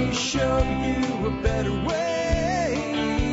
me show you a better way.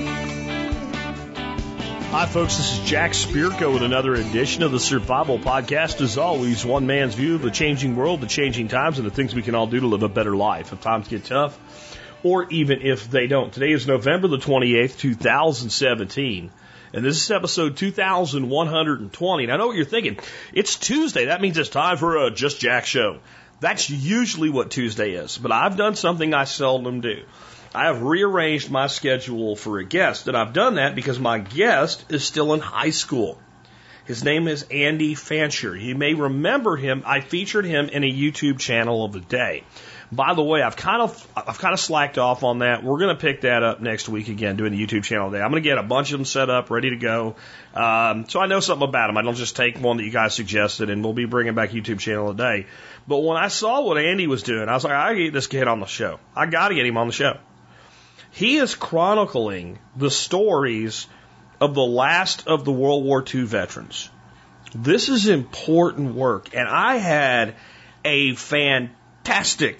Hi, folks. This is Jack Spirko with another edition of the Survival Podcast. As always, one man's view of the changing world, the changing times, and the things we can all do to live a better life if times get tough, or even if they don't. Today is November the 28th, 2017. And this is episode 2120. And I know what you're thinking. It's Tuesday. That means it's time for a Just Jack show. That's usually what Tuesday is. But I've done something I seldom do. I have rearranged my schedule for a guest. And I've done that because my guest is still in high school. His name is Andy Fancher. You may remember him. I featured him in a YouTube channel of the day. By the way, I've kind of slacked off on that. We're going to pick that up next week again, doing the YouTube channel today. I'm going to get a bunch of them set up, ready to go. So I know something about them. I don't just take one that you guys suggested, and we'll be bringing back YouTube channel today. But when I saw what Andy was doing, I was like, I got to get this kid on the show. I got to get him on the show. He is chronicling the stories of the last of the World War II veterans. This is important work, and I had a fantastic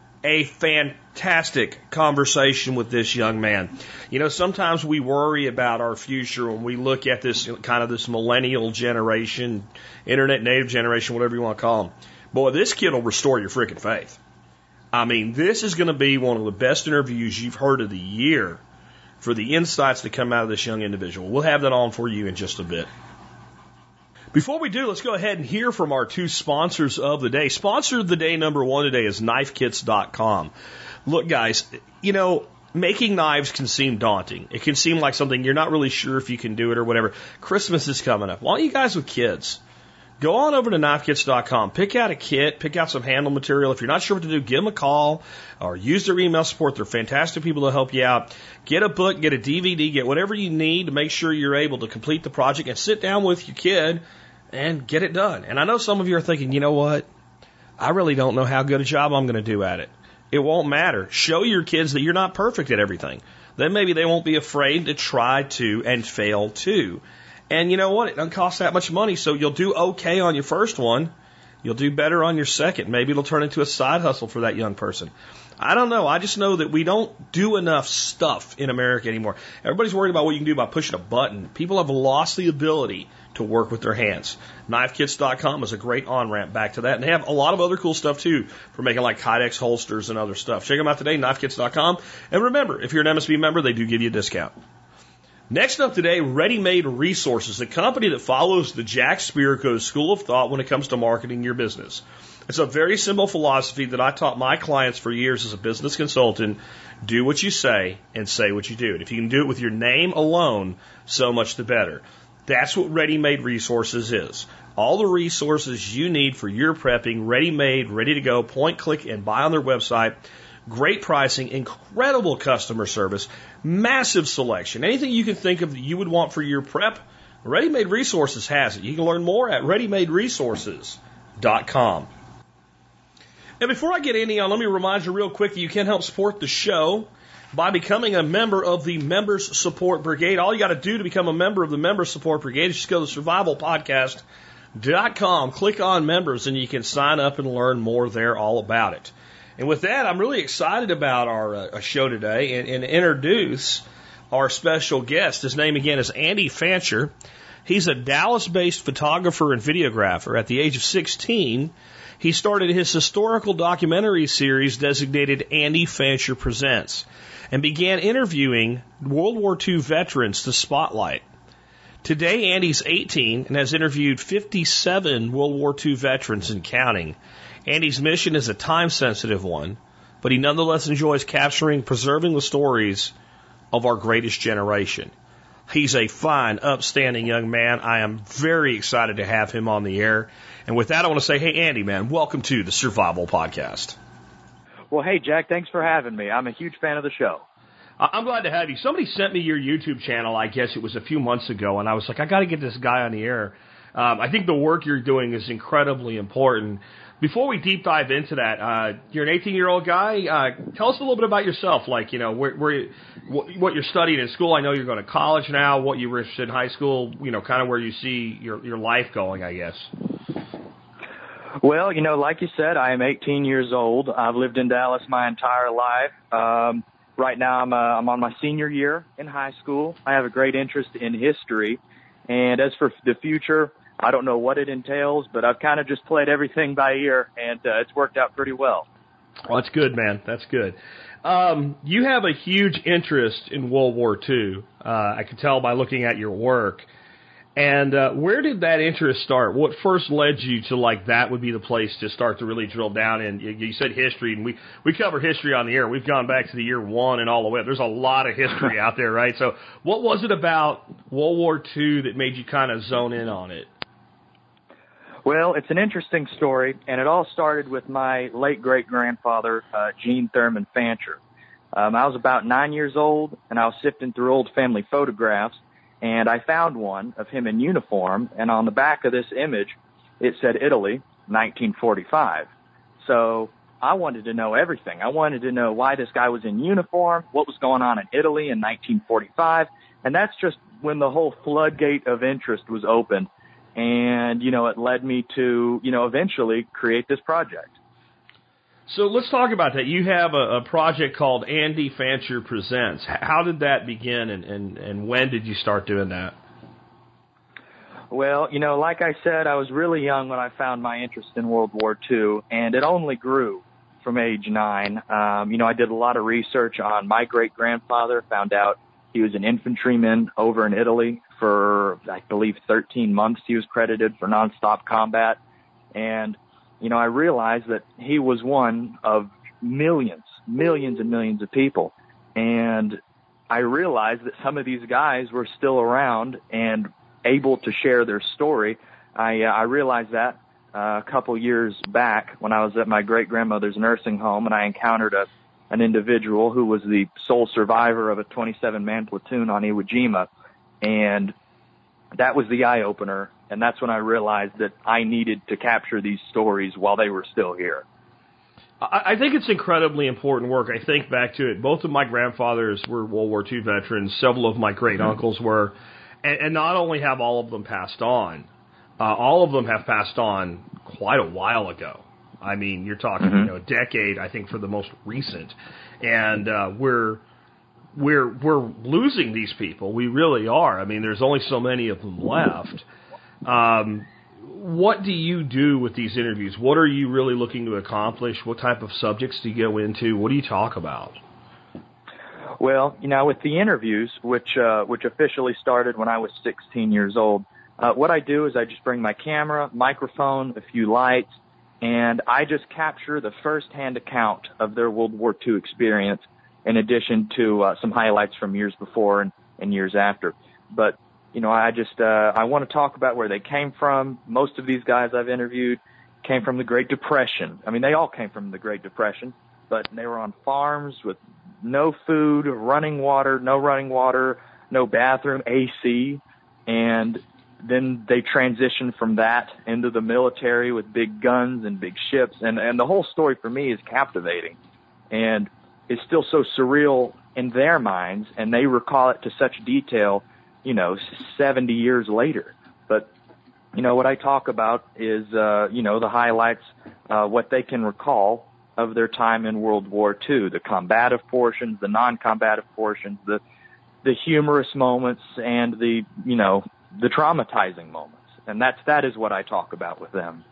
conversation with this young man. You know, sometimes we worry about our future when we look at this kind of this millennial generation, internet native generation, whatever you want to call them. Boy, this kid will restore your freaking faith. I mean, this is going to be one of the best interviews you've heard of the year for the insights that come out of this young individual. We'll have that on for you in just a bit. Before we do, let's go ahead and hear from our two sponsors of the day. Sponsor of the day number one today is KnifeKits.com. Look, guys, you know, making knives can seem daunting. It can seem like something you're not really sure if you can do it or whatever. Christmas is coming up. Why don't you guys with kids? Go on over to KnifeKits.com. Pick out a kit. Pick out some handle material. If you're not sure what to do, give them a call or use their email support. They're fantastic people to help you out. Get a book, get a DVD, get whatever you need to make sure you're able to complete the project and sit down with your kid and get it done. And I know some of you are thinking, you know what? I really don't know how good a job I'm going to do at it. It won't matter. Show your kids that you're not perfect at everything. Then maybe they won't be afraid to try to and fail too. And you know what? It doesn't cost that much money, so you'll do okay on your first one. You'll do better on your second. Maybe it'll turn into a side hustle for that young person. I don't know. I just know that we don't do enough stuff in America anymore. Everybody's worried about what you can do by pushing a button. People have lost the ability to work with their hands. KnifeKits.com is a great on-ramp back to that. And they have a lot of other cool stuff, too, for making like Kydex holsters and other stuff. Check them out today, KnifeKits.com. And remember, if you're an MSB member, they do give you a discount. Next up today, Ready Made Resources, a company that follows the Jack Spirko school of thought when it comes to marketing your business. It's a very simple philosophy that I taught my clients for years as a business consultant. Do what you say and say what you do. And if you can do it with your name alone, so much the better. That's what Ready Made Resources is. All the resources you need for your prepping, ready-made, ready to go, point, click, and buy on their website. Great pricing, incredible customer service, massive selection. Anything you can think of that you would want for your prep, Ready Made Resources has it. You can learn more at ReadyMadeResources.com. And before I get any on, let me remind you real quick that you can help support the show by becoming a member of the Members Support Brigade. All you got to do to become a member of the Members Support Brigade is just go to survivalpodcast.com, click on members, and you can sign up and learn more there all about it. And with that, I'm really excited about our show today and introduce our special guest. His name, again, is Andy Fancher. He's a Dallas-based photographer and videographer. At the age of 16, he started his historical documentary series designated Andy Fancher Presents and began interviewing World War II veterans to Spotlight. Today, Andy's 18 and has interviewed 57 World War II veterans and counting. Andy's mission is a time-sensitive one, but he nonetheless enjoys capturing, preserving the stories of our greatest generation. He's a fine, upstanding young man. I am very excited to have him on the air. And with that, I want to say, hey, Andy, man, welcome to the Survival Podcast. Well, hey, Jack, thanks for having me. I'm a huge fan of the show. I'm glad to have you. Somebody sent me your YouTube channel, I guess it was a few months ago, and I was like, I got to get this guy on the air. I think the work you're doing is incredibly important. Before we deep dive into that, you're an 18-year-old guy. Tell us a little bit about yourself, like, you know, what you're studying in school. I know you're going to college now, what you were interested in high school, you know, kind of where you see your life going, I guess. Well, like you said, I am 18 years old. I've lived in Dallas my entire life. Right now, I'm on my senior year in high school. I have a great interest in history. And as for the future, I don't know what it entails, but I've kind of just played everything by ear, and it's worked out pretty well. Well, that's good, man. That's good. You have a huge interest in World War II. I can tell by looking at your work. And where did that interest start? What first led you to, like, that would be the place to start to really drill down in? You said history, and we cover history on the air. We've gone back to the year 1 and all the way up. There's a lot of history out there, right? So what was it about World War II that made you kind of zone in on it? Well, it's an interesting story, and it all started with my late great-grandfather, Gene Thurman Fancher. I was about 9 years old, and I was sifting through old family photographs, and I found one of him in uniform, and on the back of this image, it said Italy, 1945. So I wanted to know everything. I wanted to know why this guy was in uniform, what was going on in Italy in 1945, and that's just when the whole floodgate of interest was opened. And, it led me to, eventually create this project. So let's talk about that. You have a project called Andy Fancher Presents. How did that begin, and when did you start doing that? Well, like I said, I was really young when I found my interest in World War II, and it only grew from age 9. I did a lot of research on my great-grandfather, found out he was an infantryman over in Italy for, I believe, 13 months. He was credited for nonstop combat. And, I realized that he was one of millions and millions of people. And I realized that some of these guys were still around and able to share their story. I realized that a couple years back when I was at my great-grandmother's nursing home, and I encountered an individual who was the sole survivor of a 27-man platoon on Iwo Jima. And that was the eye-opener, and that's when I realized that I needed to capture these stories while they were still here. I think it's incredibly important work. I think back to it. Both of my grandfathers were World War II veterans. Several of my great-uncles were. And not only have all of them passed on, all of them have passed on quite a while ago. I mean, you're talking, a decade, I think, for the most recent. And we're losing these people. We really are. I mean, there's only so many of them left. What do you do with these interviews? What are you really looking to accomplish? What type of subjects do you go into? What do you talk about? Well, with the interviews, which officially started when I was 16 years old, what I do is I just bring my camera, microphone, a few lights, and I just capture the first-hand account of their World War II experience, in addition to some highlights from years before and years after. But, I want to talk about where they came from. Most of these guys I've interviewed came from the Great Depression. I mean, they all came from the Great Depression, but they were on farms with no food, no running water, no bathroom, AC, and then they transitioned from that into the military with big guns and big ships, and the whole story for me is captivating, and it's still so surreal in their minds, and they recall it to such detail, 70 years later. But, what I talk about is, the highlights, what they can recall of their time in World War II, the combative portions, the non-combative portions, the humorous moments, and the traumatizing moments. And that is what I talk about with them.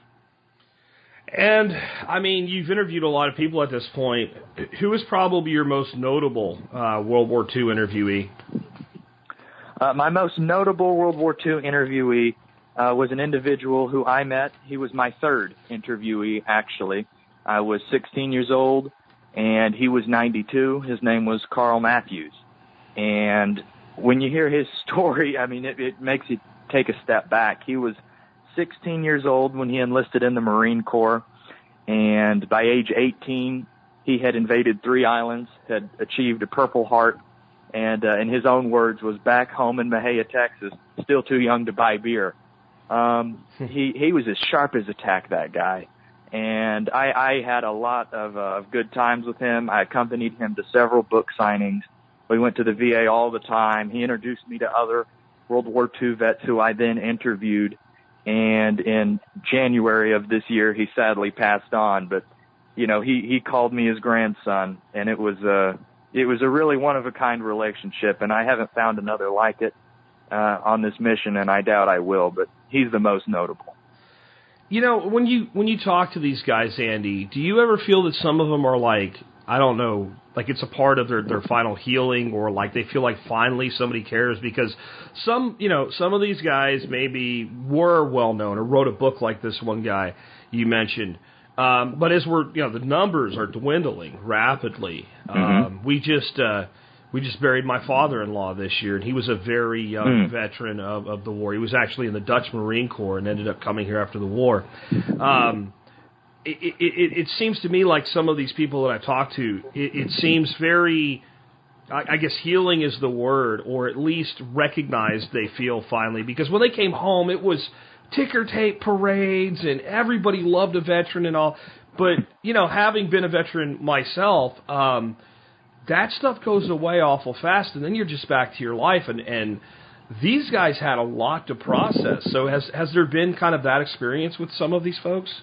And, I mean, you've interviewed a lot of people at this point. Who is probably your most notable World War II interviewee? My most notable World War II interviewee was an individual who I met. He was my third interviewee, actually. I was 16 years old, and he was 92. His name was Carl Matthews. And when you hear his story, I mean, it makes you take a step back. He was 16 years old when he enlisted in the Marine Corps, and by age 18, he had invaded 3 islands, had achieved a Purple Heart, and in his own words, was back home in Mahia, Texas, still too young to buy beer. He was as sharp as a tack, that guy. And I had a lot of good times with him. I accompanied him to several book signings. We went to the VA all the time. He introduced me to other World War II vets who I then interviewed. And in January of this year, he sadly passed on. But, he called me his grandson, and it was a really one-of-a-kind relationship, and I haven't found another like it on this mission, and I doubt I will, but he's the most notable. When you talk to these guys, Andy, do you ever feel that some of them are like, I don't know, like it's a part of their final healing, or like they feel like finally somebody cares? Because some of these guys maybe were well known or wrote a book like this one guy you mentioned. But as the numbers are dwindling rapidly. Mm-hmm. We just buried my father-in-law this year, and he was a very young veteran of the war. He was actually in the Dutch Marine Corps and ended up coming here after the war. It seems to me like some of these people that I talk to, it seems very, I guess healing is the word, or at least recognized they feel finally. Because when they came home, it was ticker tape parades, and everybody loved a veteran and all. But, having been a veteran myself, that stuff goes away awful fast, and then you're just back to your life. And these guys had a lot to process. So has there been kind of that experience with some of these folks?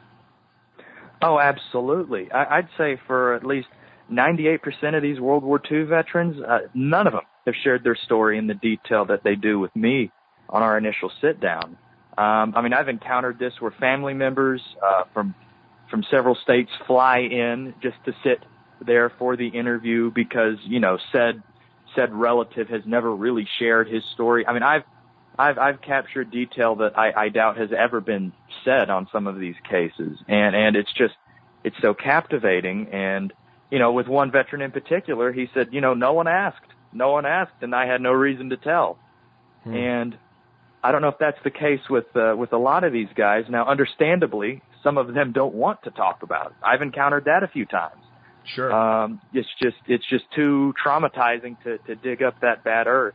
Oh, absolutely. I'd say for at least 98% of these World War II veterans, none of them have shared their story in the detail that they do with me on our initial sit-down. I've encountered this where family members from several states fly in just to sit there for the interview because, said relative has never really shared his story. I've captured detail that I doubt has ever been said on some of these cases. And it's so captivating. And, with one veteran in particular, he said, no one asked, and I had no reason to tell. And I don't know if that's the case with a lot of these guys. Now, understandably, some of them don't want to talk about it. I've encountered that a few times. Sure. It's just too traumatizing to dig up that bad earth.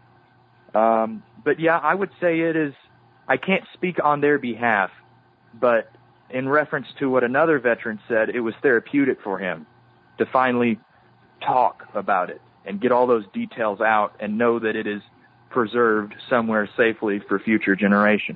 But yeah, I would say it is, I can't speak on their behalf, but in reference to what another veteran said, it was therapeutic for him to finally talk about it and get all those details out and know that it is preserved somewhere safely for future generation.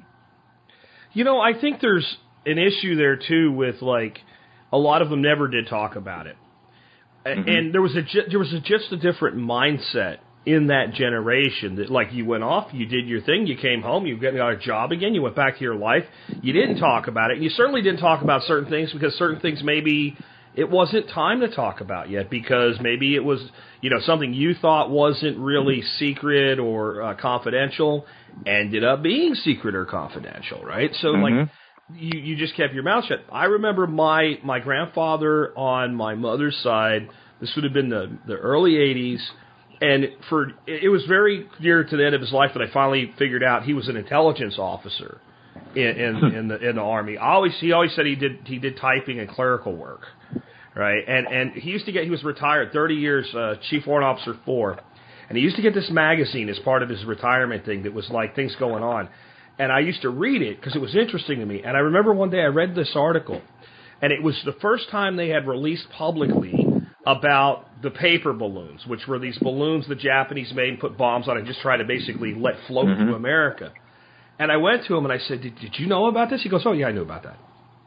I think there's an issue there too with like a lot of them never did talk about it. Mm-hmm. And there was just a different mindset in that generation that like you went off, you did your thing, you came home, you got a job again, you went back to your life, you didn't talk about it, and you certainly didn't talk about certain things because certain things maybe it wasn't time to talk about yet because maybe it was, something you thought wasn't really secret or confidential ended up being secret or confidential, right? So like you just kept your mouth shut. I remember my grandfather on my mother's side, this would have been the early 80s, and it was very near to the end of his life that I finally figured out he was an intelligence officer in the Army. He always said he did typing and clerical work, right? And he was retired 30 years, Chief Warrant Officer 4, and he used to get this magazine as part of his retirement thing that was like things going on. And I used to read it because it was interesting to me. And I remember one day I read this article, and it was the first time they had released publicly about the paper balloons, which were these balloons the Japanese made and put bombs on and just tried to basically let float to America. And I went to him and I said, did you know about this? He goes, oh, yeah, I knew about that.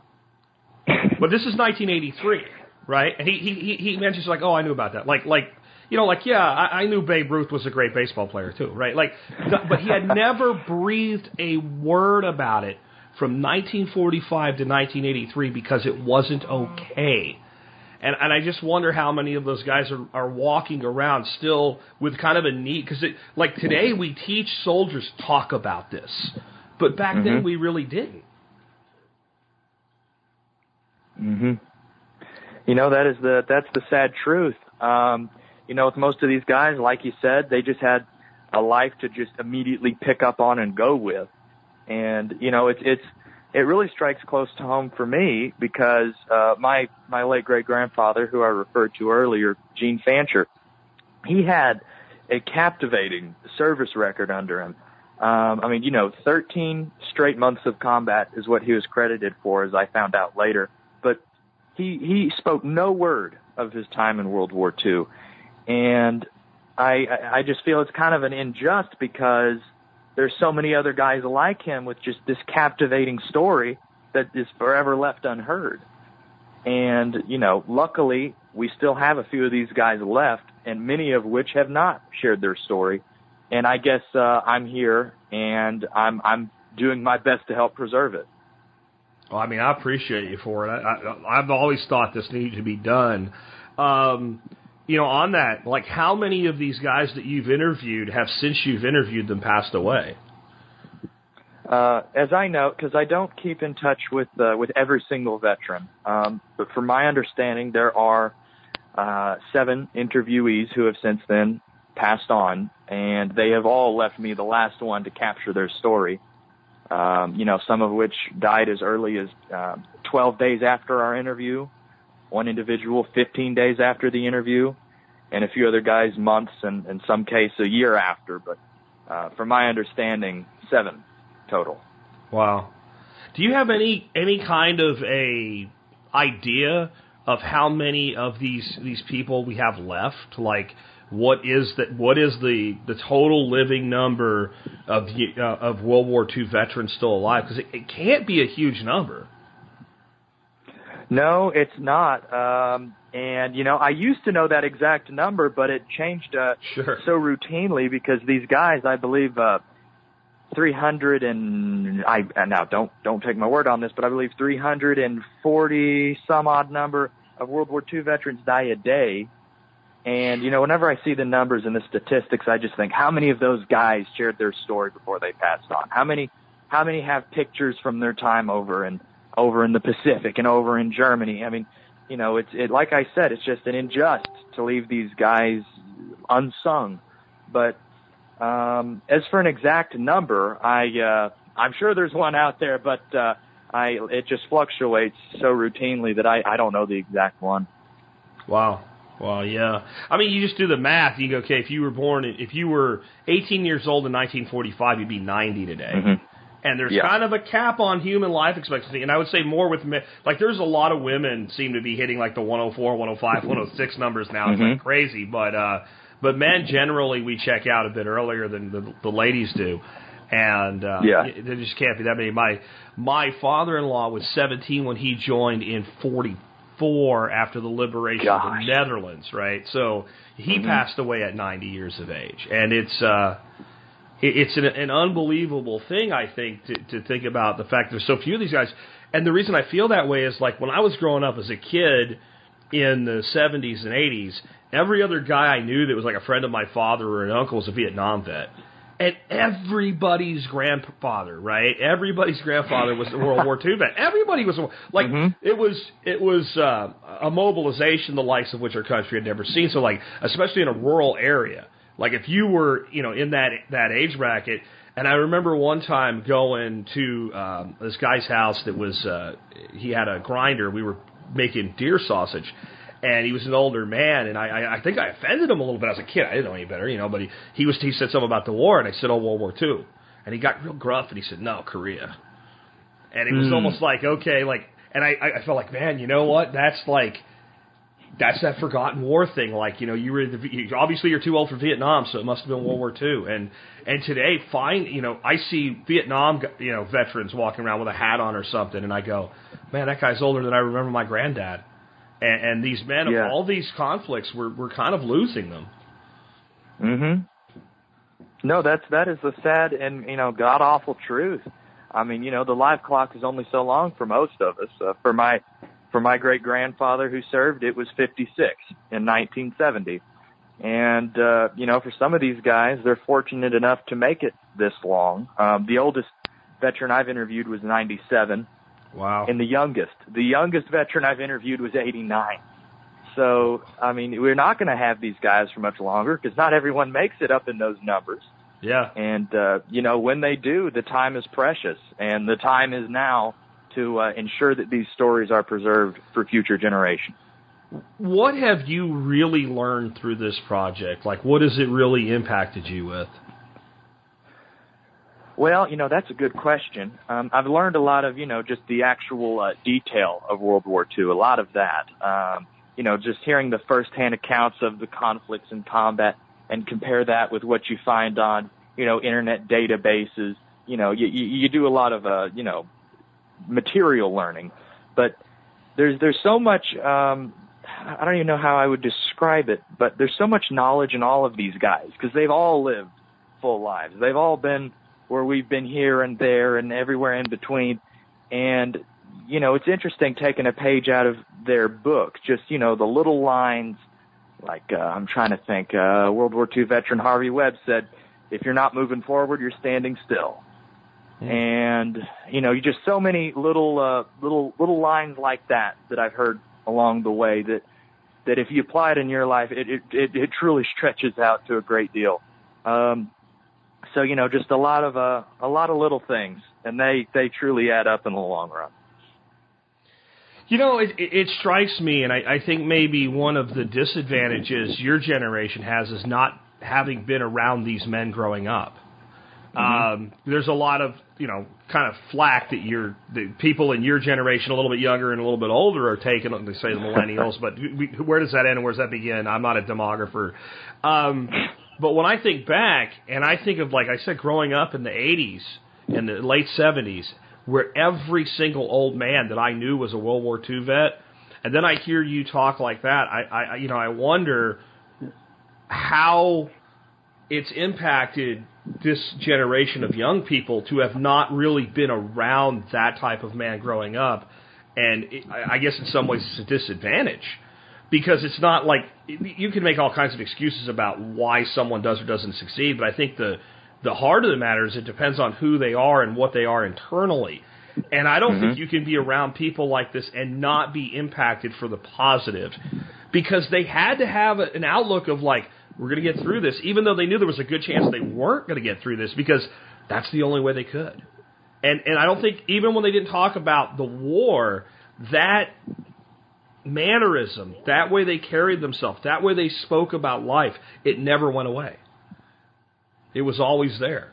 But this is 1983, right? And he mentions like, oh, I knew about that. I knew Babe Ruth was a great baseball player too, right? But he had never breathed a word about it from 1945 to 1983 because it wasn't okay. And I just wonder how many of those guys are walking around still with kind of a need, because today we teach soldiers talk about this, but back then we really didn't. That's the sad truth. With most of these guys, like you said, they just had a life to just immediately pick up on and go with. And, it really strikes close to home for me because my late great-grandfather, who I referred to earlier, Gene Fancher, he had a captivating service record under him. 13 straight months of combat is what he was credited for, as I found out later. But he spoke no word of his time in World War II. And I just feel it's kind of an unjust because there's so many other guys like him with just this captivating story that is forever left unheard. And, luckily, we still have a few of these guys left, and many of which have not shared their story. And I guess I'm here, and I'm doing my best to help preserve it. Well, I mean, I appreciate you for it. I've always thought this needed to be done. On that, like, how many of these guys that you've interviewed have, since you've interviewed them, passed away? As I know, because I don't keep in touch with every single veteran, but from my understanding, there are 7 interviewees who have since then passed on, and they have all left me the last one to capture their story. Some of which died as early as 12 days after our interview, one individual 15 days after the interview, and a few other guys months and in some case a year after. But from my understanding, 7 total. Wow. Do you have any kind of a idea of how many of these people we have left? Like, what is the total living number of World War II veterans still alive? Because it can't be a huge number. No, it's not. And I used to know that exact number, but it changed Sure. so routinely because these guys, I believe, 300 and now don't take my word on this, but I believe 340 some odd number of World War II veterans die a day. And, whenever I see the numbers and the statistics, I just think, how many of those guys shared their story before they passed on? How many have pictures from their time over in the Pacific and over in Germany? I mean, it's like I said, it's just an injustice to leave these guys unsung. But as for an exact number, I'm sure there's one out there, but it just fluctuates so routinely that I don't know the exact one. Wow. Well, yeah. I mean, you just do the math. You go, okay, if you were 18 years old in 1945, you'd be 90 today. Mm-hmm. And there's kind of a cap on human life expectancy. And I would say more with men. Like, there's a lot of women seem to be hitting like the 104, 105, 106 numbers now. It's like crazy. But men generally, we check out a bit earlier than the ladies do. And there just can't be that many. My father-in-law was 17 when he joined in 44 after the liberation of the Netherlands, right? So he passed away at 90 years of age. And it's an unbelievable thing, I think, to think about the fact there's so few of these guys. And the reason I feel that way is, like, when I was growing up as a kid in the 70s and 80s, every other guy I knew that was like a friend of my father or an uncle was a Vietnam vet. And everybody's grandfather, right? Everybody's grandfather was a World War II vet. Everybody was like, it was a mobilization the likes of which our country had never seen. So, like, especially in a rural area, like if you were, in that age bracket. And I remember one time going to this guy's house that was he had a grinder. We were making deer sausage. And he was an older man, and I think I offended him a little bit as a kid. I didn't know any better, but he said something about the war, and I said, World War II. And he got real gruff, and he said, no, Korea. And it was almost like, okay, like, and I felt like, man, you know what? That's that forgotten war thing. Like, you were obviously you're too old for Vietnam, so it must have been World War II. And today, I see Vietnam, veterans walking around with a hat on or something, and I go, man, that guy's older than I remember my granddad. And these men of all these conflicts, we're kind of losing them. No, that is the sad and god awful truth. I mean, the life clock is only so long for most of us. For my great grandfather who served, it was 56 in 1970. And for some of these guys, they're fortunate enough to make it this long. The oldest veteran I've interviewed was 97. Wow. And the youngest veteran I've interviewed was 89. So, I mean, we're not going to have these guys for much longer because not everyone makes it up in those numbers. Yeah. And, when they do, the time is precious. And the time is now to ensure that these stories are preserved for future generations. What have you really learned through this project? Like, what has it really impacted you with? Well, that's a good question. I've learned a lot of, just the actual detail of World War II, a lot of that. Just hearing the firsthand accounts of the conflicts and combat and compare that with what you find on, internet databases. You do a lot of, material learning, but there's so much, I don't even know how I would describe it, but there's so much knowledge in all of these guys because they've all lived full lives. They've all been where we've been here and there and everywhere in between. And, it's interesting taking a page out of their book, just, the little lines, like, I'm trying to think, World War II veteran Harvey Webb said, if you're not moving forward, you're standing still. And, you just so many little lines like that I've heard along the way that if you apply it in your life, it truly stretches out to a great deal. So, just a lot of little things, and they truly add up in the long run. It strikes me, and I think maybe one of the disadvantages your generation has is not having been around these men growing up. There's a lot of, kind of flack that the people in your generation, a little bit younger and a little bit older, are taking, they say the millennials, but where does that end and where does that begin? I'm not a demographer. But when I think back, and I think of, like I said, growing up in the 80s and the late 70s, where every single old man that I knew was a World War II vet, and then I hear you talk like that, I wonder how it's impacted this generation of young people to have not really been around that type of man growing up. And I guess in some ways it's a disadvantage because it's not like you can make all kinds of excuses about why someone does or doesn't succeed. But I think the heart of the matter is it depends on who they are and what they are internally. And I don't think you can be around people like this and not be impacted for the positive because they had to have an outlook of like, we're going to get through this, even though they knew there was a good chance they weren't going to get through this because that's the only way they could. And I don't think, even when they didn't talk about the war, that mannerism, that way they carried themselves, that way they spoke about life, it never went away. It was always there.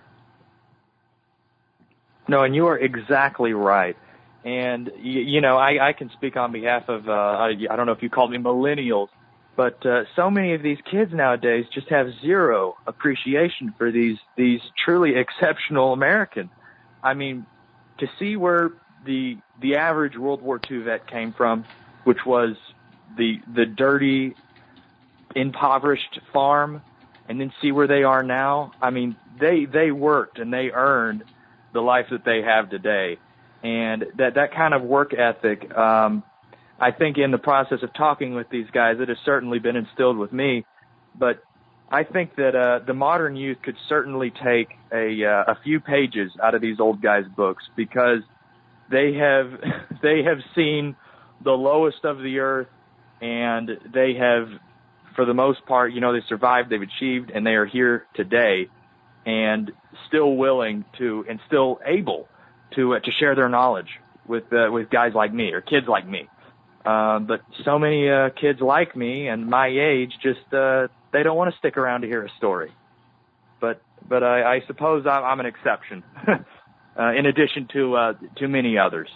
No, and you are exactly right. And, I can speak on behalf of, I don't know if you called me millennials, but so many of these kids nowadays just have zero appreciation for these truly exceptional Americans. I mean, to see where the average World War II vet came from, which was the dirty, impoverished farm, and then see where they are now. I mean, they worked and they earned the life that they have today, and that kind of work ethic. I think in the process of talking with these guys, it has certainly been instilled with me. But I think that the modern youth could certainly take a few pages out of these old guys' books because they have seen the lowest of the earth, and they have, for the most part, they survived, they've achieved, and they are here today, and still willing to and still able to share their knowledge with guys like me or kids like me. But so many kids like me and my age just they don't want to stick around to hear a story. But I suppose I'm an exception, in addition to many others.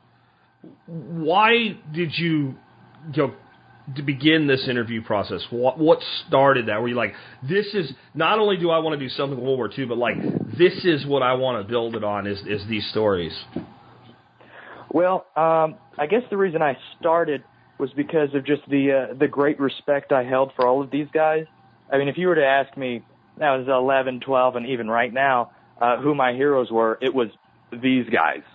Why did you to begin this interview process? What started that? Were you like, this is not only do I want to do something with World War II, but like this is what I want to build it on is these stories? Well, I guess the reason I started was because of just the great respect I held for all of these guys. I mean, if you were to ask me, that was 11, 12, and even right now, who my heroes were, it was these guys.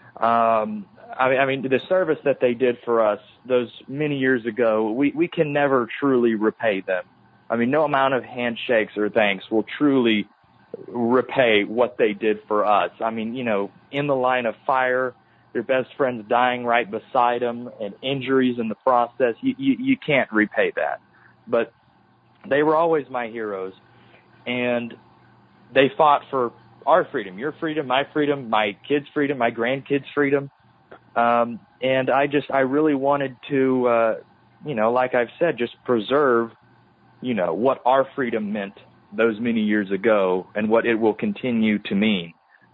I mean, the service that they did for us those many years ago, we can never truly repay them. I mean, no amount of handshakes or thanks will truly repay what they did for us. I mean, in the line of fire, your best friend's dying right beside them, and injuries in the process, you can't repay that. But they were always my heroes, and they fought for our freedom, your freedom, my kids' freedom, my grandkids' freedom. And I really wanted to, like I've said, just preserve, what our freedom meant those many years ago and what it will continue to mean.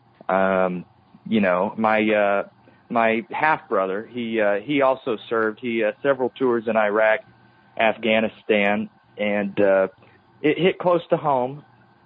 My half brother, he also served. He several tours in Iraq, Afghanistan, and it hit close to home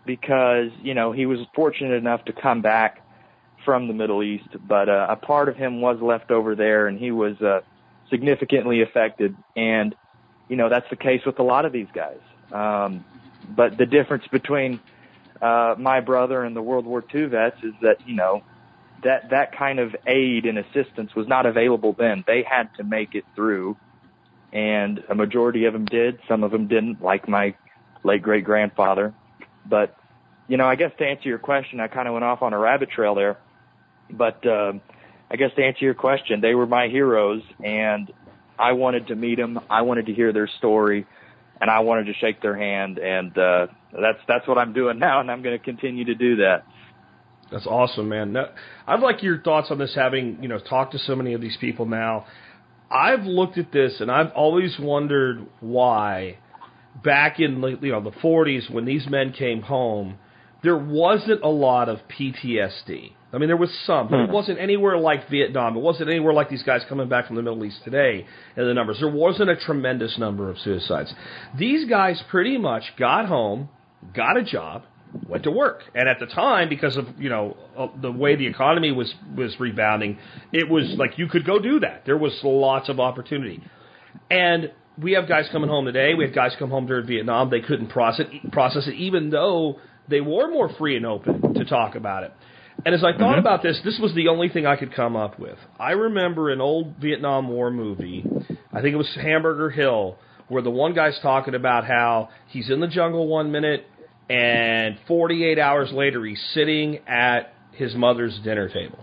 because, you know, he was fortunate enough to come back from the Middle East, but a part of him was left over there, and he was significantly affected. And, you know, that's the case with a lot of these guys. But the difference between my brother and the World War II vets is that, you know, that kind of aid and assistance was not available then. They had to make it through, and a majority of them did. Some of them didn't, like my late great-grandfather. But, you know, I guess to answer your question, I kind of went off on a rabbit trail there. But I guess to answer your question, they were my heroes, and I wanted to meet them. I wanted to hear their story, and I wanted to shake their hand. And that's what I'm doing now, and I'm going to continue to do that. That's awesome, man. Now, I'd like your thoughts on this, having, you know, talked to so many of these people now. I've looked at this, and I've always wondered why back in, you know, the 40s when these men came home, there wasn't a lot of PTSD. I mean, there was some, but it wasn't anywhere like Vietnam. It wasn't anywhere like these guys coming back from the Middle East today in the numbers. There wasn't a tremendous number of suicides. These guys pretty much got home, got a job, went to work. And at the time, because of, you know, the way the economy was rebounding, it was like you could go do that. There was lots of opportunity. And we have guys coming home today. We had guys come home during Vietnam. They couldn't process it, even though they were more free and open to talk about it. And as I thought about this was the only thing I could come up with. I remember an old Vietnam War movie, I think it was Hamburger Hill, where the one guy's talking about how he's in the jungle 1 minute, and 48 hours later he's sitting at his mother's dinner table.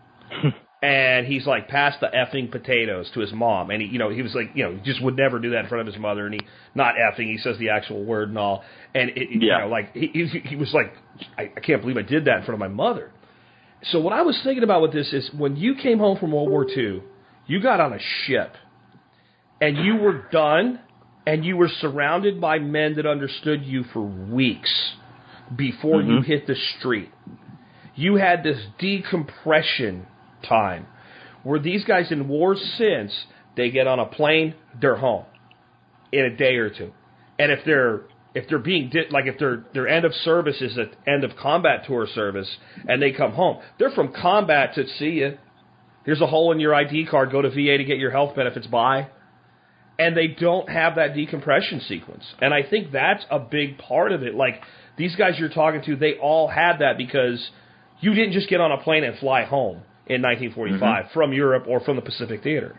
And he's like, pass the effing potatoes to his mom. And he, you know, he was like, you know, he just would never do that in front of his mother. And he, not effing, he says the actual word and all. And, you know, like, he was like, I can't believe I did that in front of my mother. So what I was thinking about with this is when you came home from World War II, you got on a ship. And you were done, and you were surrounded by men that understood you for weeks before you hit the street. You had this decompression time where these guys in wars since, they get on a plane, they're home in a day or two. And if they're being like if their end of service is at end of combat tour service and they come home, they're from combat to see you. Here's a hole in your ID card, go to VA to get your health benefits, bye. And they don't have that decompression sequence. And I think that's a big part of it. Like these guys you're talking to, they all had that because you didn't just get on a plane and fly home in 1945 from Europe or from the Pacific Theater.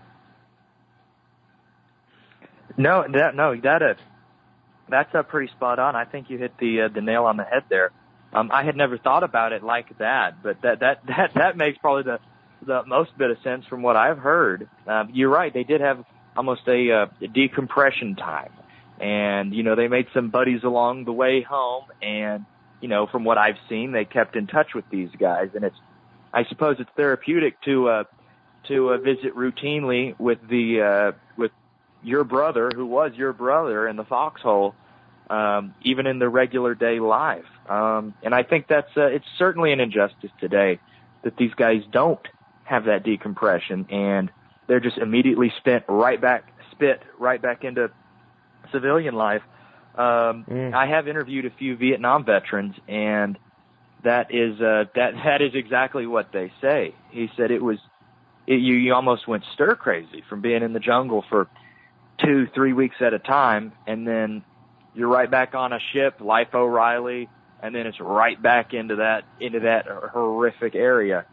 That's pretty spot on. I think you hit the nail on the head there. I had never thought about it like that, but that makes probably the most bit of sense from what I've heard. You're right. They did have almost a decompression time, and you know they made some buddies along the way home, and you know from what I've seen, they kept in touch with these guys, and I suppose it's therapeutic to visit routinely with with your brother, who was your brother in the foxhole, even in the regular day life. And I think that's it's certainly an injustice today that these guys don't have that decompression, and they're just immediately spit right back into civilian life. I have interviewed a few Vietnam veterans, and that is exactly what they say. He said you almost went stir crazy from being in the jungle for 2-3 weeks at a time, and then you're right back on a ship, Life O'Reilly, and then it's right back into that horrific area.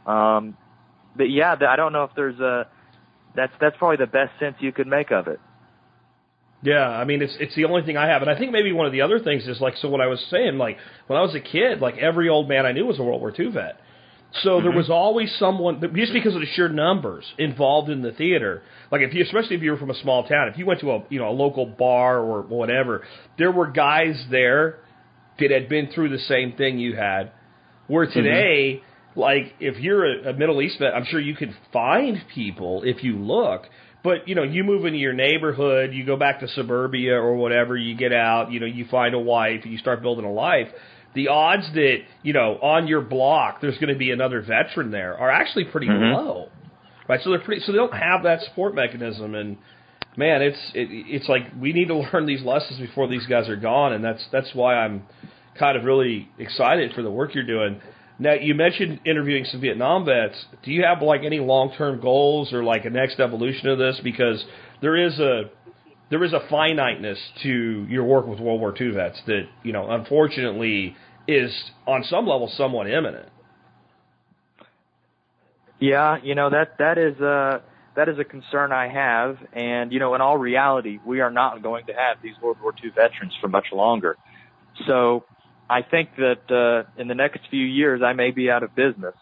But yeah, I don't know if there's that's probably the best sense you could make of it. Yeah, I mean, it's the only thing I have. And I think maybe one of the other things is, like, so what I was saying, like, when I was a kid, like, every old man I knew was a World War II vet. So there was always someone, just because of the sheer numbers involved in the theater, like, especially if you were from a small town, if you went to a local bar or whatever, there were guys there that had been through the same thing you had, where today, like, if you're a Middle East vet, I'm sure you could find people if you look. But, you move into your neighborhood, you go back to suburbia or whatever, you get out, you find a wife, and you start building a life. The odds that, on your block there's going to be another veteran there are actually pretty low. Right? So so they don't have that support mechanism. And, man, it's like we need to learn these lessons before these guys are gone. And that's why I'm kind of really excited for the work you're doing. Now, you mentioned interviewing some Vietnam vets. Do you have like any long-term goals or like a next evolution of this? Because there is a finiteness to your work with World War II vets that, you know, unfortunately is on some level somewhat imminent. Yeah, you know, that is a concern I have, and you know, in all reality, we are not going to have these World War II veterans for much longer. So I think that in the next few years, I may be out of business,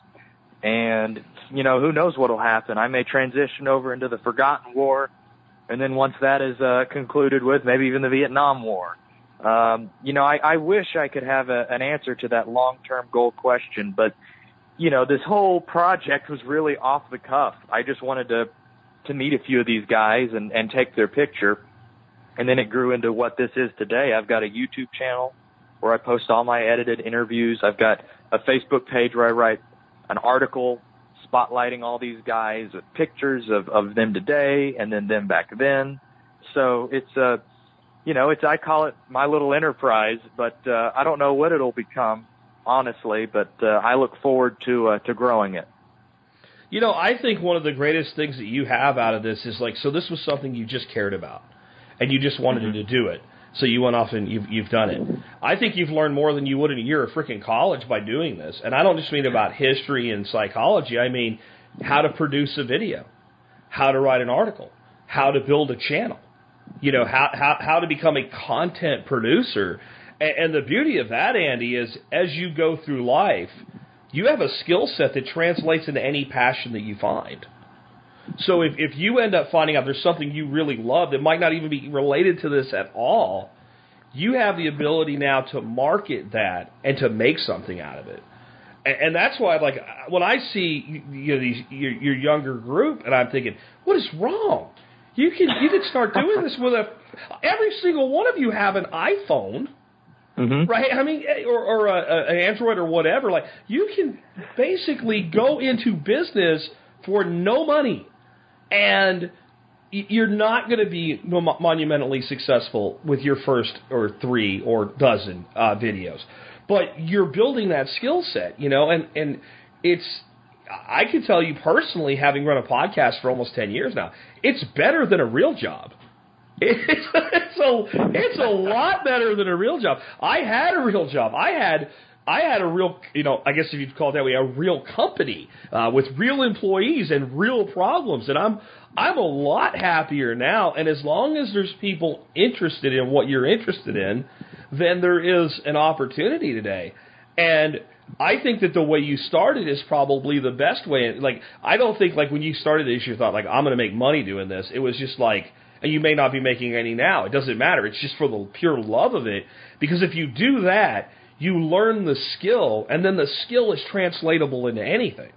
and you know, who knows what will happen? I may transition over into the Forgotten War, and then once that is concluded with, maybe even the Vietnam War. You know, I wish I could have an answer to that long-term goal question, but you know, this whole project was really off the cuff. I just wanted to meet a few of these guys and take their picture. And then it grew into what this is today. I've got a YouTube channel where I post all my edited interviews. I've got a Facebook page where I write an article spotlighting all these guys with pictures of them today and then them back then. So it's you know, I call it my little enterprise, but I don't know what it'll become, honestly, but I look forward to growing it. You know, I think one of the greatest things that you have out of this is like, so this was something you just cared about, and you just wanted to do it. So you went off and you've done it. I think you've learned more than you would in a year of freaking college by doing this. And I don't just mean about history and psychology. I mean how to produce a video, how to write an article, how to build a channel, you know, how to become a content producer. And the beauty of that, Andy, is as you go through life, you have a skill set that translates into any passion that you find. So if you end up finding out there's something you really love that might not even be related to this at all, you have the ability now to market that and to make something out of it. And that's why, like, when I see you know your younger group, and I'm thinking, what is wrong? You can start doing this with every single one of you have an iPhone. Mm-hmm. Right? I mean, or an Android or whatever. Like, you can basically go into business for no money, and you're not going to be monumentally successful with your first or 3 or dozen videos. But you're building that skill set, you know, and it's, I can tell you personally, having run a podcast for almost 10 years now, it's better than a real job. It's a lot better than a real job. I had a real job. I had a real, you know, I guess if you'd call it that way, a real company with real employees and real problems. And I'm a lot happier now. And as long as there's people interested in what you're interested in, then there is an opportunity today. And I think that the way you started is probably the best way. Like, I don't think like when you started this, you thought like, I'm going to make money doing this. It was just like, and you may not be making any now. It doesn't matter. It's just for the pure love of it. Because if you do that, you learn the skill, and then the skill is translatable into anything.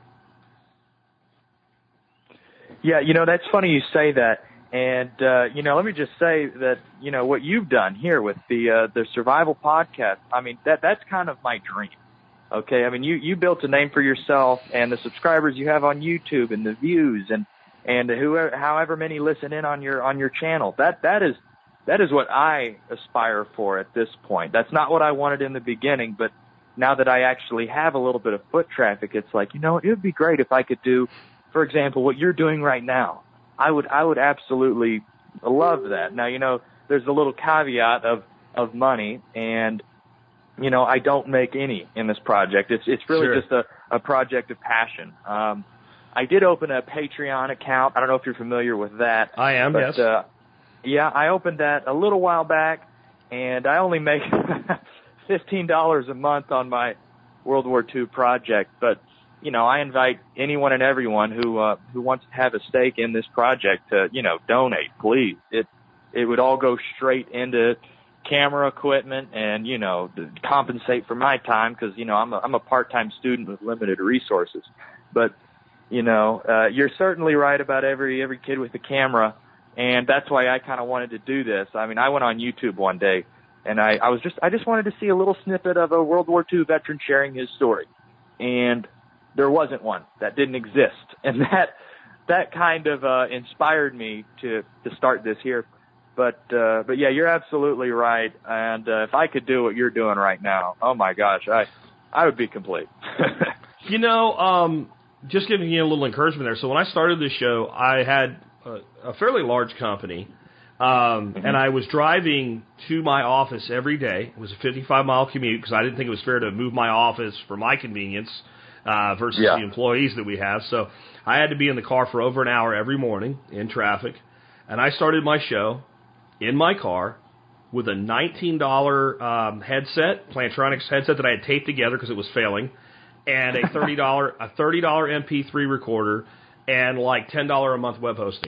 Yeah, you know, that's funny you say that. And, you know, let me just say that, you know, what you've done here with the Survival Podcast, I mean, that's kind of my dream. Okay, I mean, you built a name for yourself, and the subscribers you have on YouTube and the views and whoever, however many listen in on your channel. That is what I aspire for at this point. That's not what I wanted in the beginning, but now that I actually have a little bit of foot traffic, it's like, you know, it would be great if I could do, for example, what you're doing right now. I would absolutely love that. Now, you know, there's a little caveat of money, and you know, I don't make any in this project. It's really Sure. just a project of passion. I did open a Patreon account. I don't know if you're familiar with that. I am, but, yes. Yeah, I opened that a little while back, and I only make $15 a month on my World War II project. But, you know, I invite anyone and everyone who wants to have a stake in this project to, you know, donate, please. It would all go straight into camera equipment and, you know, to compensate for my time because, you know, I'm a part-time student with limited resources. But, you know, you're certainly right about every kid with a camera. And that's why I kind of wanted to do this. I mean, I went on YouTube one day, and I just wanted to see a little snippet of a World War II veteran sharing his story, and there wasn't one. That didn't exist, and that kind of inspired me to start this here. But yeah, you're absolutely right. And if I could do what you're doing right now, oh my gosh, I would be complete. You know, just giving you a little encouragement there. So when I started this show, I had a fairly large company, and I was driving to my office every day. It was a 55-mile commute because I didn't think it was fair to move my office for my convenience versus the employees that we have. So I had to be in the car for over an hour every morning in traffic, and I started my show in my car with a $19 headset, Plantronics headset that I had taped together because it was failing, and a $30 MP3 recorder, and like $10 a month web hosting,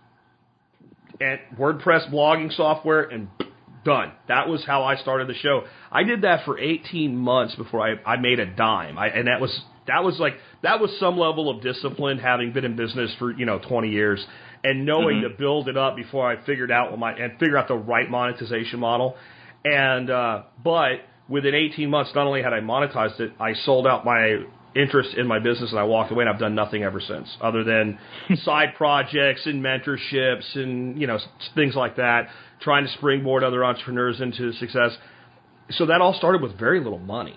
and WordPress blogging software, and done. That was how I started the show. I did that for 18 months before I made a dime, and that was some level of discipline, having been in business for 20 years. And knowing to build it up before I figured out figure out the right monetization model. And but within 18 months, not only had I monetized it, I sold out my interest in my business and I walked away, and I've done nothing ever since, other than side projects and mentorships and things like that, trying to springboard other entrepreneurs into success. So that all started with very little money.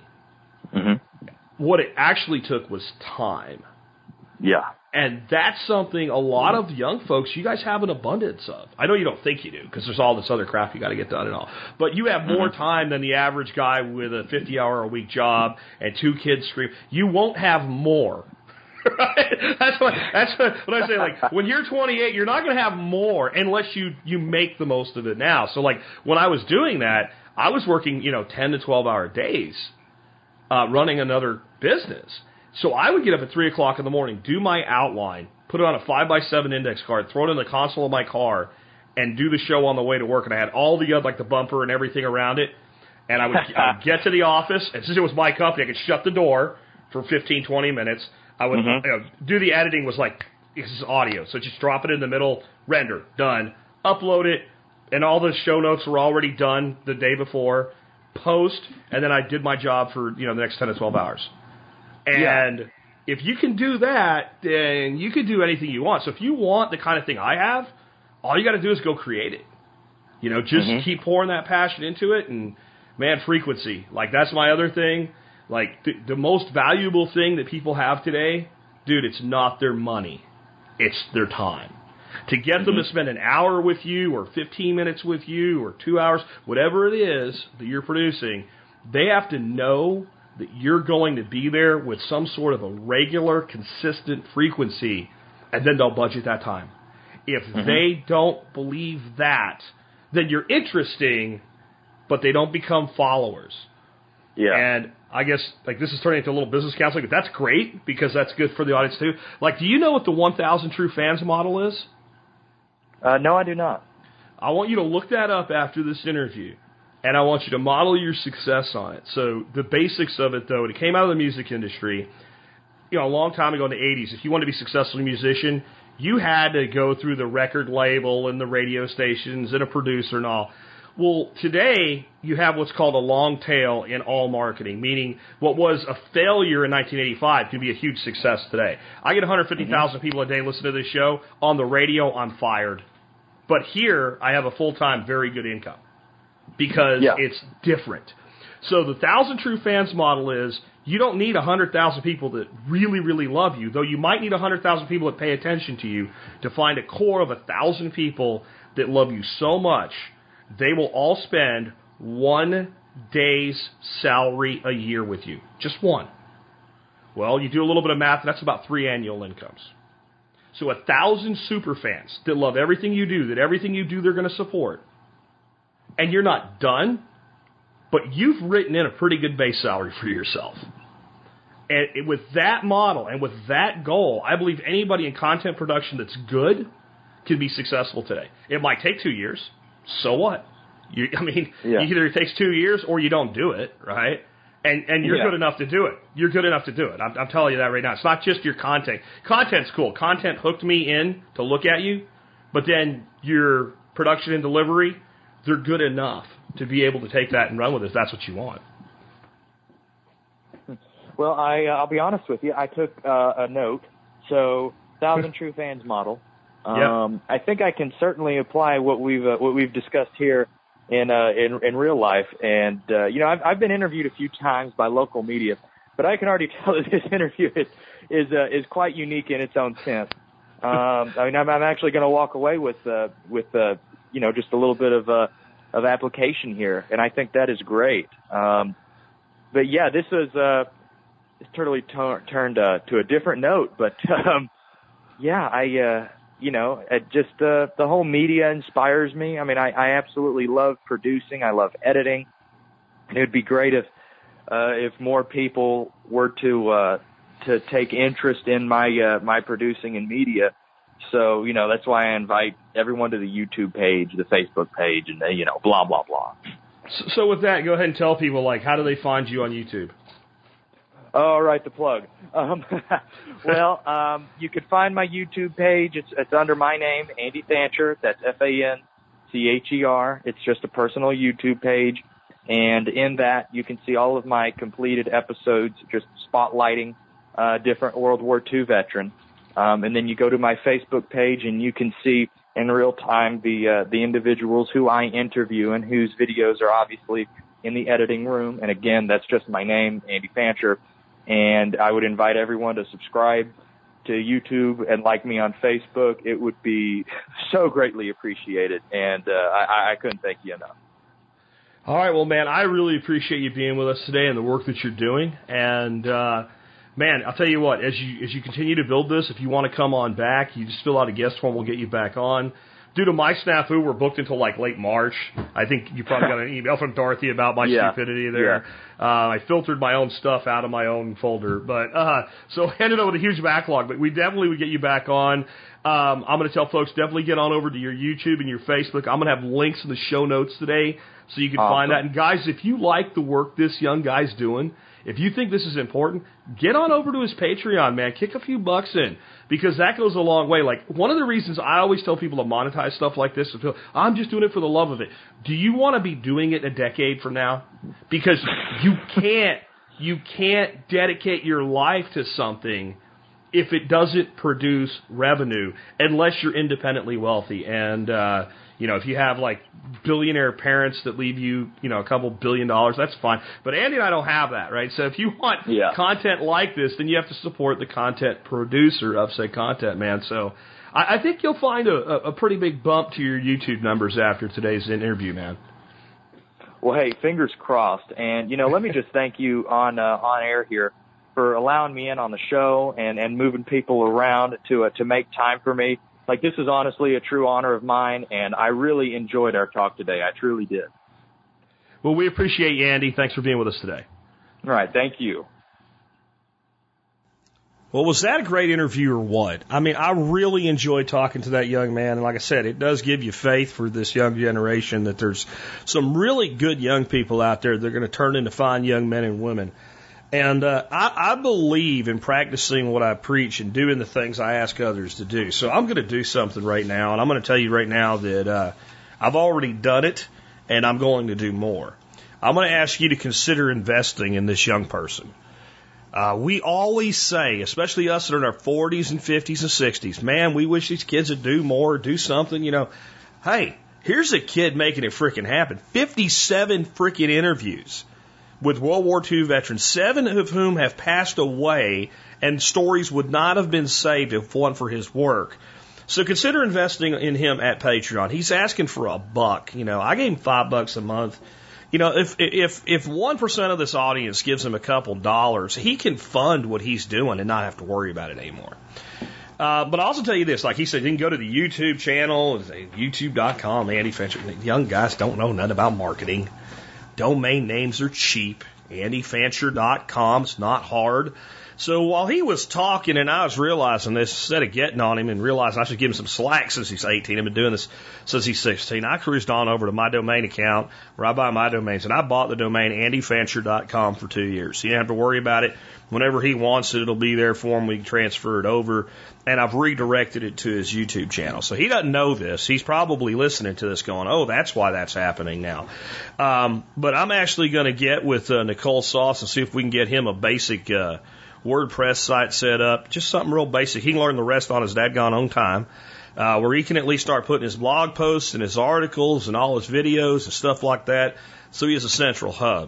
What it actually took was time. Yeah. And that's something a lot of young folks, you guys have an abundance of. I know you don't think you do, because there's all this other crap you got to get done and all. But you have more time than the average guy with a 50-hour-a-week job and 2 kids scream. You won't have more. Right? That's what I say. Like, when you're 28, you're not going to have more unless you make the most of it now. So, like, when I was doing that, I was working 10 to 12-hour days running another business. So I would get up at 3 o'clock in the morning, do my outline, put it on a 5x7 index card, throw it in the console of my car, and do the show on the way to work. And I had all the like the bumper and everything around it. And I would get to the office, and since it was my company, I could shut the door for 15, 20 minutes. I would do the editing. Was like, this is audio, so just drop it in the middle, render, done, upload it, and all the show notes were already done the day before, post, and then I did my job for the next 10 to 12 hours. And if you can do that, then you can do anything you want. So if you want the kind of thing I have, all you got to do is go create it. Just keep pouring that passion into it. And, man, frequency. Like, that's my other thing. Like, the most valuable thing that people have today, dude, it's not their money. It's their time. To get them to spend an hour with you or 15 minutes with you or 2 hours, whatever it is that you're producing, they have to know that you're going to be there with some sort of a regular, consistent frequency, and then they'll budget that time. If they don't believe that, then you're interesting, but they don't become followers. Yeah. And I guess, like, this is turning into a little business counseling, but that's great, because that's good for the audience, too. Like, do you know what the 1,000 True Fans model is? No, I do not. I want you to look that up after this interview. And I want you to model your success on it. So the basics of it, though, it came out of the music industry, a long time ago in the 80s. If you wanted to be a successful musician, you had to go through the record label and the radio stations and a producer and all. Well, today, you have what's called a long tail in all marketing, meaning what was a failure in 1985 can be a huge success today. I get 150,000 people a day listen to this show. On the radio, I'm fired. But here, I have a full-time, very good income. Because it's different. So the 1,000 True Fans model is, you don't need 100,000 people that really, really love you, though you might need 100,000 people that pay attention to you to find a core of 1,000 people that love you so much, they will all spend 1 day's salary a year with you. Just one. Well, you do a little bit of math, and that's about 3 annual incomes. So 1,000 super fans that love everything you do, that everything you do they're going to support. And you're not done, but you've written in a pretty good base salary for yourself. And with that model and with that goal, I believe anybody in content production that's good can be successful today. It might take 2 years. So what? Either it takes 2 years or you don't do it, right? And you're good enough to do it. You're good enough to do it. I'm telling you that right now. It's not just your content. Content's cool. Content hooked me in to look at you, but then your production and delivery, they're good enough to be able to take that and run with it if that's what you want. Well, I'll be honest with you. I took a note. So, 1,000 True Fans model. I think I can certainly apply what we've discussed here in real life. And I've been interviewed a few times by local media, but I can already tell that this interview is quite unique in its own sense. I'm actually going to walk away with just a little bit of application here, and I think that is great. But yeah, this was it's totally turned to a different note. But the whole media inspires me. I mean, I absolutely love producing. I love editing. And it would be great if more people were to take interest in my producing and media. So, that's why I invite everyone to the YouTube page, the Facebook page, and blah, blah, blah. So with that, go ahead and tell people, how do they find you on YouTube? All right, the plug. You can find my YouTube page. It's under my name, Andy Fancher. That's Fancher. It's just a personal YouTube page. And in that, you can see all of my completed episodes, just spotlighting different World War II veterans. And then you go to my Facebook page, and you can see in real time the individuals who I interview and whose videos are obviously in the editing room. And again, that's just my name, Andy Fancher. And I would invite everyone to subscribe to YouTube and like me on Facebook. It would be so greatly appreciated. And I couldn't thank you enough. All right, well, man, I really appreciate you being with us today and the work that you're doing. And man, I'll tell you what, as you continue to build this, if you want to come on back, you just fill out a guest form, we'll get you back on. Due to my snafu, we're booked until late March. I think you probably got an email from Dorothy about my stupidity there. Yeah. I filtered my own stuff out of my own folder. But so I ended up with a huge backlog, but we definitely would get you back on. I'm going to tell folks, definitely get on over to your YouTube and your Facebook. I'm going to have links in the show notes today so you can find that. And guys, if you like the work this young guy's doing, if you think this is important, get on over to his Patreon, man. Kick a few bucks in, because that goes a long way. One of the reasons I always tell people to monetize stuff like this is, I'm just doing it for the love of it. Do you want to be doing it a decade from now? Because you can't dedicate your life to something if it doesn't produce revenue, unless you're independently wealthy. And, if you have billionaire parents that leave you, a couple $1 billion, that's fine. But Andy and I don't have that, right? So if you want content like this, then you have to support the content producer of said content, man. So I think you'll find a pretty big bump to your YouTube numbers after today's interview, man. Well, hey, fingers crossed. And, let me just thank you on air here for allowing me in on the show and moving people around to make time for me. This is honestly a true honor of mine, and I really enjoyed our talk today. I truly did. Well, we appreciate you, Andy. Thanks for being with us today. All right. Thank you. Well, was that a great interview or what? I mean, I really enjoyed talking to that young man. And like I said, it does give you faith for this young generation that there's some really good young people out there that are going to turn into fine young men and women. And I believe in practicing what I preach and doing the things I ask others to do. So I'm going to do something right now, and I'm going to tell you right now that I've already done it, and I'm going to do more. I'm going to ask you to consider investing in this young person. We always say, especially us that are in our 40s and 50s and 60s, man, we wish these kids would do more, do something, Hey, here's a kid making it freaking happen. 57 freaking interviews with World War II veterans, 7 of whom have passed away, and stories would not have been saved if it weren't for his work. So consider investing in him at Patreon. He's asking for $1. I gave him $5 a month. If 1% of this audience gives him a couple dollars, he can fund what he's doing and not have to worry about it anymore. But I'll also tell you this, like he said, you can go to the YouTube channel, youtube.com, Andy Fancher. Young guys don't know nothing about marketing. Domain names are cheap. AndyFancher.com. It's not hard. So while he was talking and I was realizing this, instead of getting on him and realizing I should give him some slack since he's 18, I've been doing this since he's 16, I cruised on over to my domain account where I buy my domains, and I bought the domain AndyFancher.com for 2 years. So you don't have to worry about it. Whenever he wants it, it'll be there for him. We can transfer it over. And I've redirected it to his YouTube channel. So he doesn't know this. He's probably listening to this going, oh, that's why that's happening now. But I'm actually going to get with Nicole Sauce and see if we can get him a basic WordPress site set up. Just something real basic. He can learn the rest on his dadgone own time. where he can at least start putting his blog posts and his articles and all his videos and stuff like that, so he has a central hub.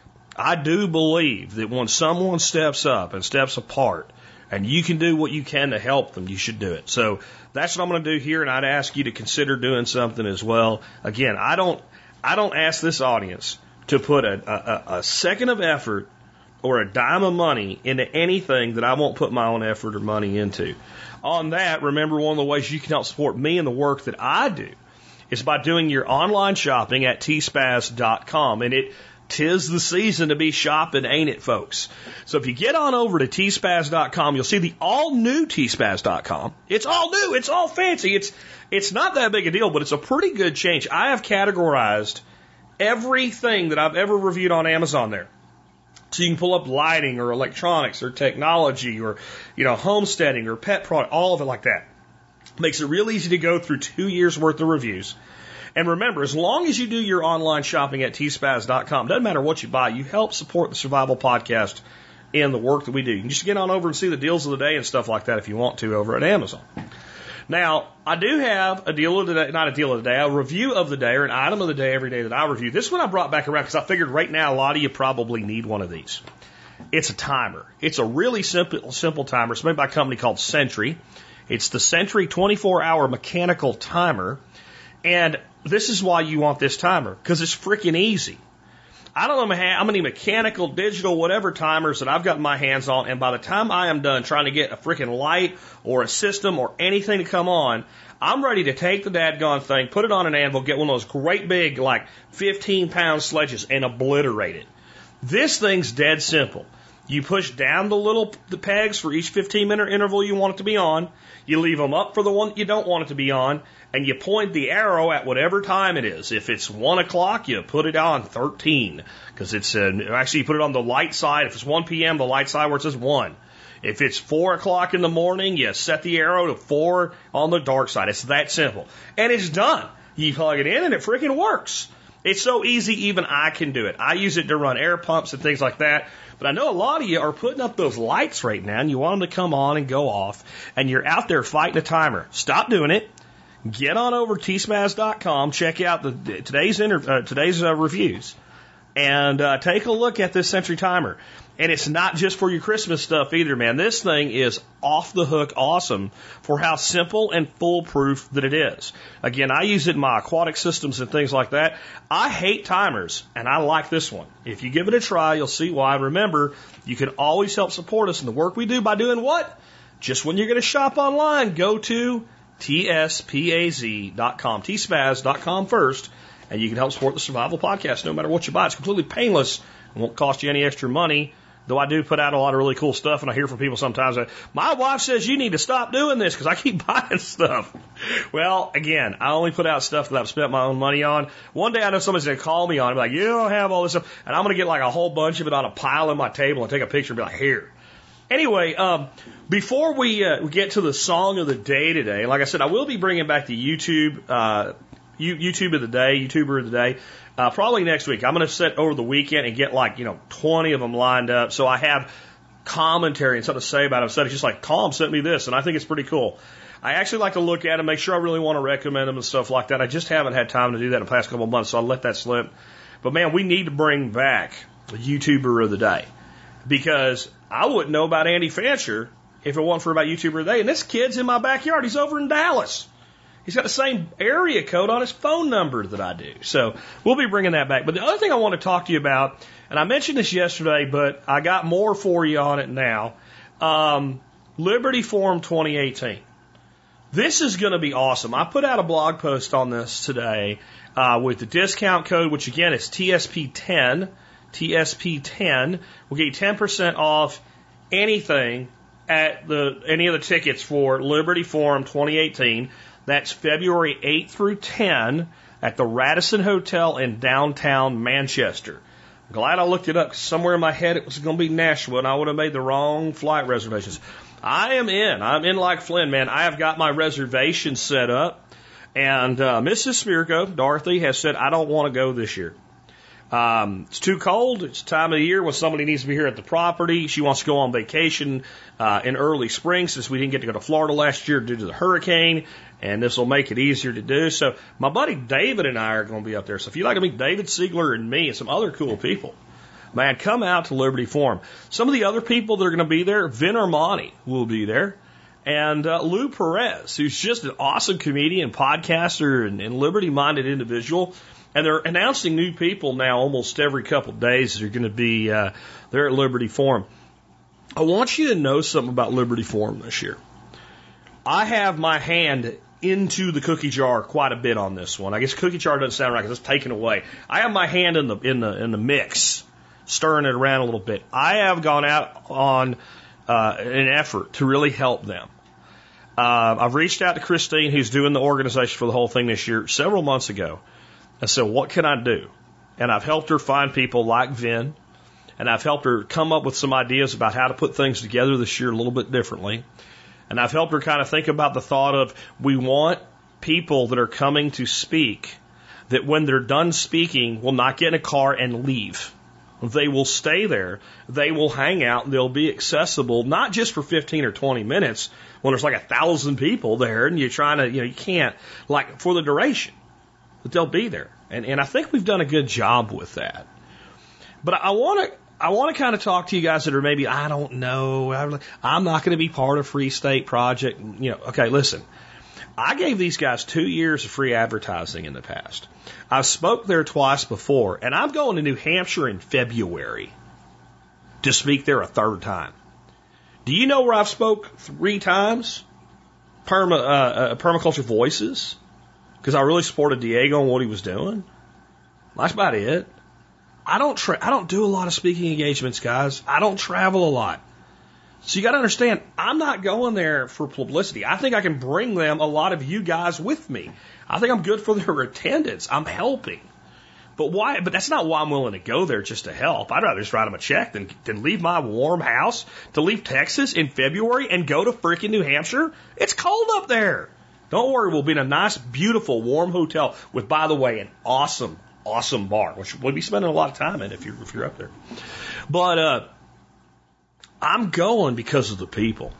I do believe that when someone steps up and steps apart, and you can do what you can to help them, you should do it. So that's what I'm going to do here, and I'd ask you to consider doing something as well. Again, I don't ask this audience to put a second of effort or a dime of money into anything that I won't put my own effort or money into. On that, remember, one of the ways you can help support me and the work that I do is by doing your online shopping at tspaz.com. And tis the season to be shopping, ain't it, folks? So if you get on over to tspaz.com, you'll see the all-new tspaz.com. It's all new. It's all fancy. It's not that big a deal, but it's a pretty good change. I have categorized everything that I've ever reviewed on Amazon there. So you can pull up lighting or electronics or technology or, homesteading or pet product, all of it like that. Makes it real easy to go through 2 years worth of reviews. And remember, as long as you do your online shopping at tspaz.com, doesn't matter what you buy, you help support the Survival Podcast and the work that we do. You can just get on over and see the deals of the day and stuff like that if you want to over at Amazon. Now, I do have a deal of the day, not a deal of the day, a review of the day or an item of the day every day that I review. This one I brought back around because I figured right now a lot of you probably need one of these. It's a timer. It's a really simple timer. It's made by a company called Sentry. It's the Sentry 24-hour mechanical timer. And this is why you want this timer, because it's freaking easy. I don't know how many mechanical, digital, whatever timers that I've got my hands on, and by the time I am done trying to get a freaking light or a system or anything to come on, I'm ready to take the dadgone thing, put it on an anvil, get one of those great big, 15-pound sledges and obliterate it. This thing's dead simple. You push down the pegs for each 15-minute interval you want it to be on. You leave them up for the one that you don't want it to be on, and you point the arrow at whatever time it is. If it's 1 o'clock, you put it on 13, because it's actually you put it on the light side. If it's 1 p.m., the light side where it says 1. If it's 4 o'clock in the morning, you set the arrow to 4 on the dark side. It's that simple, and it's done. You plug it in, and it freaking works. It's so easy, even I can do it. I use it to run air pumps and things like that. But I know a lot of you are putting up those lights right now, and you want them to come on and go off, and you're out there fighting a timer. Stop doing it. Get on over to tspaz.com, check out today's reviews, and take a look at this Sentry timer. And it's not just for your Christmas stuff either, man. This thing is off the hook awesome for how simple and foolproof that it is. Again, I use it in my aquatic systems and things like that. I hate timers, and I like this one. If you give it a try, you'll see why. Remember, you can always help support us in the work we do by doing what? Just when you're going to shop online, go to tspaz.com, tspaz.com first, and you can help support the Survival Podcast no matter what you buy. It's completely painless. It won't cost you any extra money. Though I do put out a lot of really cool stuff, and I hear from people sometimes that, my wife says you need to stop doing this because I keep buying stuff. Well, again, I only put out stuff that I've spent my own money on. One day I know somebody's going to call me on it, be like, you don't have all this stuff, and I'm going to get a whole bunch of it on a pile on my table and take a picture and be like, here. Anyway, before we get to the song of the day today, like I said, I will be bringing back the YouTuber of the day. Probably next week. I'm going to sit over the weekend and get 20 of them lined up. So I have commentary and something to say about them. Instead of just Tom sent me this, and I think it's pretty cool. I actually like to look at them, make sure I really want to recommend them and stuff like that. I just haven't had time to do that in the past couple of months, so I'll let that slip. But man, we need to bring back the YouTuber of the day, because I wouldn't know about Andy Fancher if it wasn't for about YouTuber of the day. And this kid's in my backyard. He's over in Dallas. He's got the same area code on his phone number that I do. So we'll be bringing that back. But the other thing I want to talk to you about, and I mentioned this yesterday, but I got more for you on it now, Liberty Forum 2018. This is going to be awesome. I put out a blog post on this today with the discount code, which again is TSP10. TSP10 will get you 10% off anything at any of the tickets for Liberty Forum 2018. That's February 8 through 10 at the Radisson Hotel in downtown Manchester. I'm glad I looked it up, because somewhere in my head it was going to be Nashville, and I would have made the wrong flight reservations. I am in. I'm in like Flynn, man. I have got my reservation set up, and Mrs. Spirko, Dorothy, has said, I don't want to go this year. It's too cold. It's the time of the year when somebody needs to be here at the property. She wants to go on vacation in early spring since we didn't get to go to Florida last year due to the hurricane, and this will make it easier to do. So my buddy David and I are going to be up there. So if you'd like to meet David Siegler and me and some other cool people, man, come out to Liberty Forum. Some of the other people that are going to be there, Vin Armani will be there, and Lou Perez, who's just an awesome comedian, podcaster, and liberty-minded individual. And they're announcing new people now almost every couple of days that are going to be there at Liberty Forum. I want you to know something about Liberty Forum this year. I have my hand into the cookie jar quite a bit on this one. I guess cookie jar doesn't sound right because it's taken away. I have my hand in the mix, stirring it around a little bit. I have gone out on an effort to really help them. I've reached out to Christine, who's doing the organization for the whole thing this year, several months ago. I said, what can I do? And I've helped her find people like Vin, and I've helped her come up with some ideas about how to put things together this year a little bit differently. And I've helped her kind of think about the thought of we want people that are coming to speak that when they're done speaking will not get in a car and leave. They will stay there. They will hang out. They'll be accessible, not just for 15 or 20 minutes when there's like 1,000 people there and you're trying to, you can't, like for the duration. But they'll be there. And I think we've done a good job with that. But I want to kind of talk to you guys that are maybe, I don't know, I'm not going to be part of Free State Project. Okay, listen. I gave these guys 2 years of free advertising in the past. I've spoke there twice before, and I'm going to New Hampshire in February to speak there a third time. Do you know where I've spoke 3 times? Permaculture Voices. Because I really supported Diego on what he was doing. That's about it. I don't do a lot of speaking engagements, guys. I don't travel a lot. So you got to understand, I'm not going there for publicity. I think I can bring them a lot of you guys with me. I think I'm good for their attendance. I'm helping. But why? But that's not why I'm willing to go there just to help. I'd rather just write them a check than leave my warm house to leave Texas in February and go to freaking New Hampshire. It's cold up there. Don't worry, we'll be in a nice, beautiful, warm hotel with, by the way, an awesome, awesome bar, which we'll be spending a lot of time in if you're up there. But I'm going because of the people.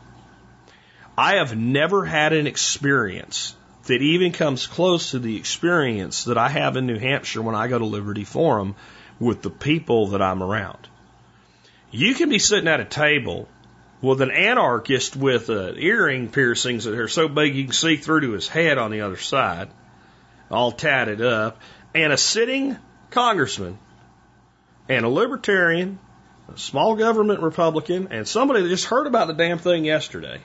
I have never had an experience that even comes close to the experience that I have in New Hampshire when I go to Liberty Forum with the people that I'm around. You can be sitting at a table with an anarchist with earring piercings that are so big you can see through to his head on the other side, all tatted up, and a sitting congressman, and a libertarian, a small government Republican, and somebody that just heard about the damn thing yesterday,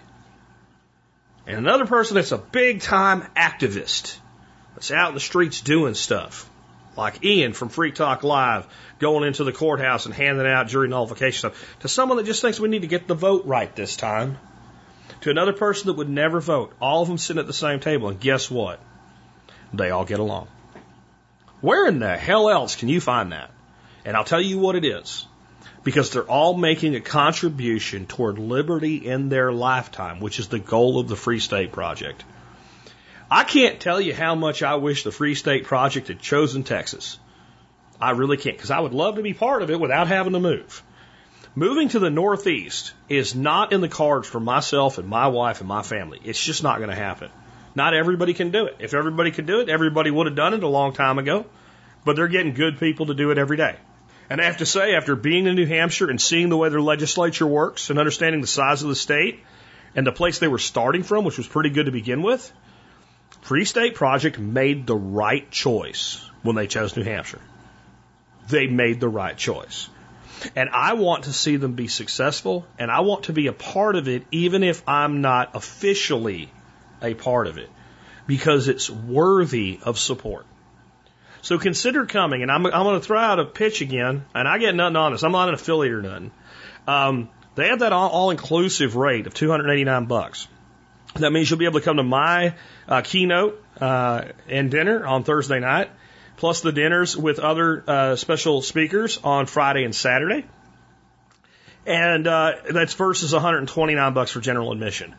and another person that's a big-time activist that's out in the streets doing stuff, like Ian from Free Talk Live, going into the courthouse and handing out jury nullification stuff, to someone that just thinks we need to get the vote right this time, to another person that would never vote, all of them sitting at the same table, and guess what? They all get along. Where in the hell else can you find that? And I'll tell you what it is. Because they're all making a contribution toward liberty in their lifetime, which is the goal of the Free State Project. I can't tell you how much I wish the Free State Project had chosen Texas. I really can't, because I would love to be part of it without having to move. Moving to the Northeast is not in the cards for myself and my wife and my family. It's just not going to happen. Not everybody can do it. If everybody could do it, everybody would have done it a long time ago. But they're getting good people to do it every day. And I have to say, after being in New Hampshire and seeing the way their legislature works and understanding the size of the state and the place they were starting from, which was pretty good to begin with, Free State Project made the right choice when they chose New Hampshire. They made the right choice. And I want to see them be successful, and I want to be a part of it, even if I'm not officially a part of it, because it's worthy of support. So consider coming, and I'm going to throw out a pitch again, and I get nothing on this. I'm not an affiliate or nothing. They have that all-inclusive rate of $289. That means you'll be able to come to my keynote and dinner on Thursday night, plus the dinners with other special speakers on Friday and Saturday. And that's versus $129 for general admission.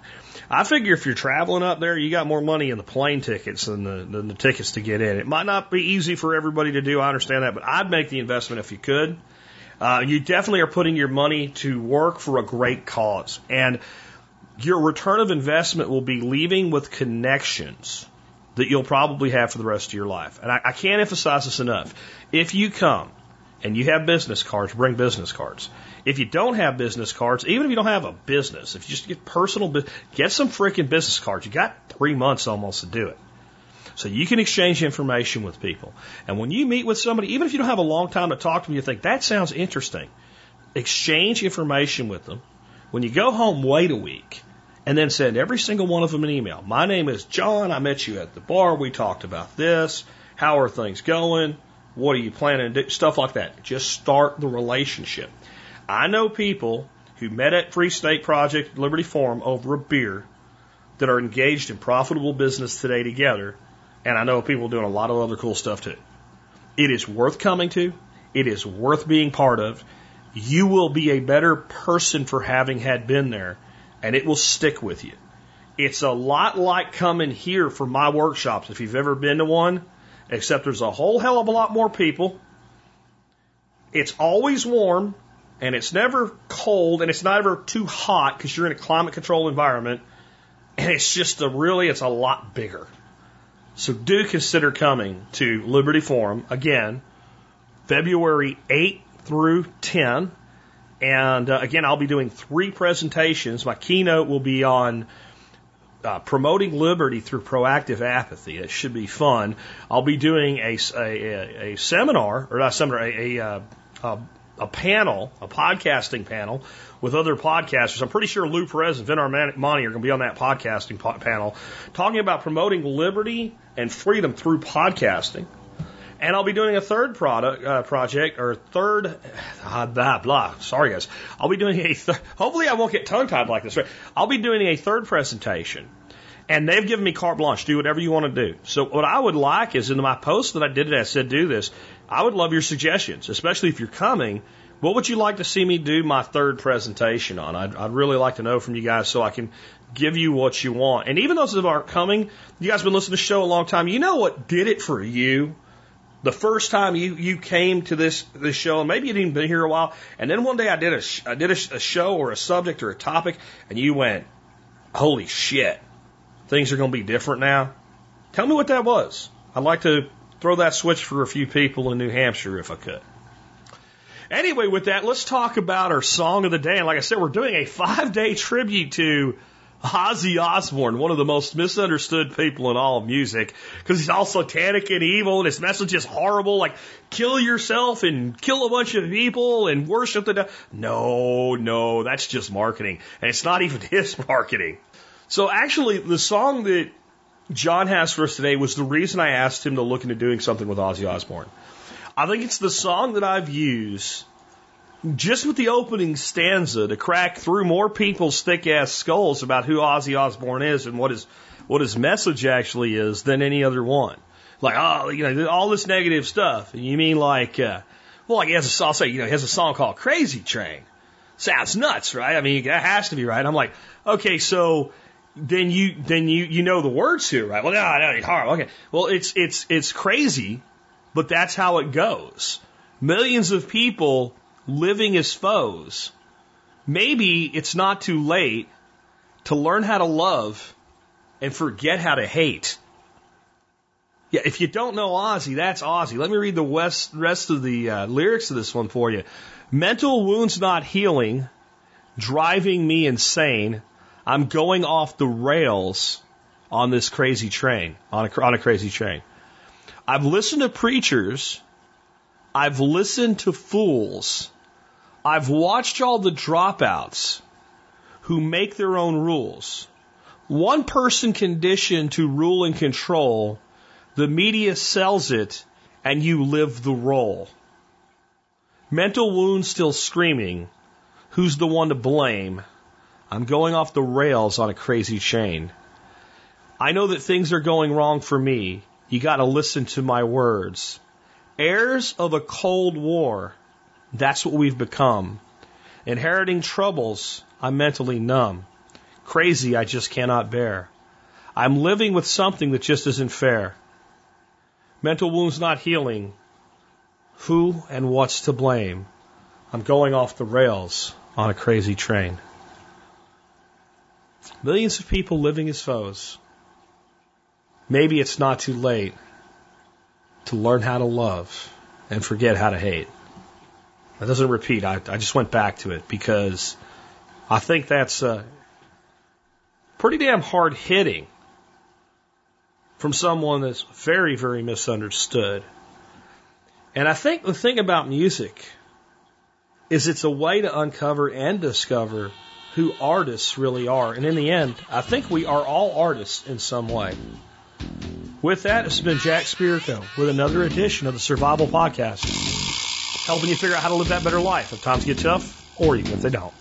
I figure if you're traveling up there, you got more money in the plane tickets than the tickets to get in. It might not be easy for everybody to do. I understand that, but I'd make the investment if you could. You definitely are putting your money to work for a great cause. And your return of investment will be leaving with connections that you'll probably have for the rest of your life. And I can't emphasize this enough. If you come and you have business cards, bring business cards. If you don't have business cards, even if you don't have a business, if you just get get some freaking business cards. You got 3 months almost to do it. So you can exchange information with people. And when you meet with somebody, even if you don't have a long time to talk to them, you think, that sounds interesting. Exchange information with them. When you go home, wait a week. And then send every single one of them an email. My name is John. I met you at the bar. We talked about this. How are things going? What are you planning to do? Stuff like that. Just start the relationship. I know people who met at Free State Project, Liberty Forum over a beer that are engaged in profitable business today together. And I know people doing a lot of other cool stuff too. It is worth coming to. It is worth being part of. You will be a better person for having had been there, and it will stick with you. It's a lot like coming here for my workshops, if you've ever been to one, except there's a whole hell of a lot more people. It's always warm, and it's never cold, and it's never too hot because you're in a climate-controlled environment, and it's just it's a lot bigger. So do consider coming to Liberty Forum, again, February 8th through 10. And again, I'll be doing 3 presentations. My keynote will be on promoting liberty through proactive apathy. It should be fun. I'll be doing a seminar, or not a seminar, a panel, a podcasting panel with other podcasters. I'm pretty sure Lou Perez and Vin Armani are going to be on that podcasting panel, talking about promoting liberty and freedom through podcasting. And I'll be doing a third project, or third, sorry guys. I'll be doing hopefully I won't get tongue-tied like this, right? I'll be doing a third presentation, and they've given me carte blanche, do whatever you want to do. So what I would like is, in my post that I did today, I said do this. I would love your suggestions, especially if you're coming. What would you like to see me do my third presentation on? I'd really like to know from you guys so I can give you what you want. And even those that aren't coming, you guys have been listening to the show a long time. You know what did it for you? The first time you came to this show, and maybe you didn't been here a while, and then one day I did a show or a subject or a topic, and you went, holy shit, things are going to be different now. Tell me what that was. I'd like to throw that switch for a few people in New Hampshire if I could. Anyway, with that, let's talk about our song of the day. And like I said, we're doing a 5-day tribute to Ozzy Osbourne, one of the most misunderstood people in all of music, because he's all satanic and evil, and his message is horrible, like kill yourself and kill a bunch of people and worship the devil. No, that's just marketing, and it's not even his marketing. So actually, the song that John has for us today was the reason I asked him to look into doing something with Ozzy Osbourne. I think it's the song that I've used just with the opening stanza to crack through more people's thick-ass skulls about who Ozzy Osbourne is and what his message actually is than any other one. Like, all this negative stuff. And you mean like, he has he has a song called Crazy Train. Sounds nuts, right? I mean, that has to be right. I'm like, okay, so then you know the words here, right? Well, no, it's horrible. Okay. Well, it's crazy, but that's how it goes. Millions of people living as foes. Maybe it's not too late to learn how to love and forget how to hate. Yeah, if you don't know Ozzy, that's Ozzy. Let me read the rest of the lyrics of this one for you. Mental wounds not healing, driving me insane. I'm going off the rails on this crazy train, on a crazy train. I've listened to preachers. I've listened to fools. I've watched all the dropouts who make their own rules. One person conditioned to rule and control. The media sells it, and you live the role. Mental wounds still screaming. Who's the one to blame? I'm going off the rails on a crazy chain. I know that things are going wrong for me. You got to listen to my words. Heirs of a cold war, that's what we've become. Inheriting troubles, I'm mentally numb. Crazy I just cannot bear. I'm living with something that just isn't fair. Mental wounds not healing. Who and what's to blame? I'm going off the rails on a crazy train. Millions of people living as foes. Maybe it's not too late to learn how to love and forget how to hate. That doesn't repeat. I just went back to it because I think that's pretty damn hard hitting from someone that's very, very misunderstood. And I think the thing about music is it's a way to uncover and discover who artists really are. And in the end, I think we are all artists in some way. With that, this has been Jack Spirko with another edition of the Survival Podcast, helping you figure out how to live that better life if times get tough or even if they don't.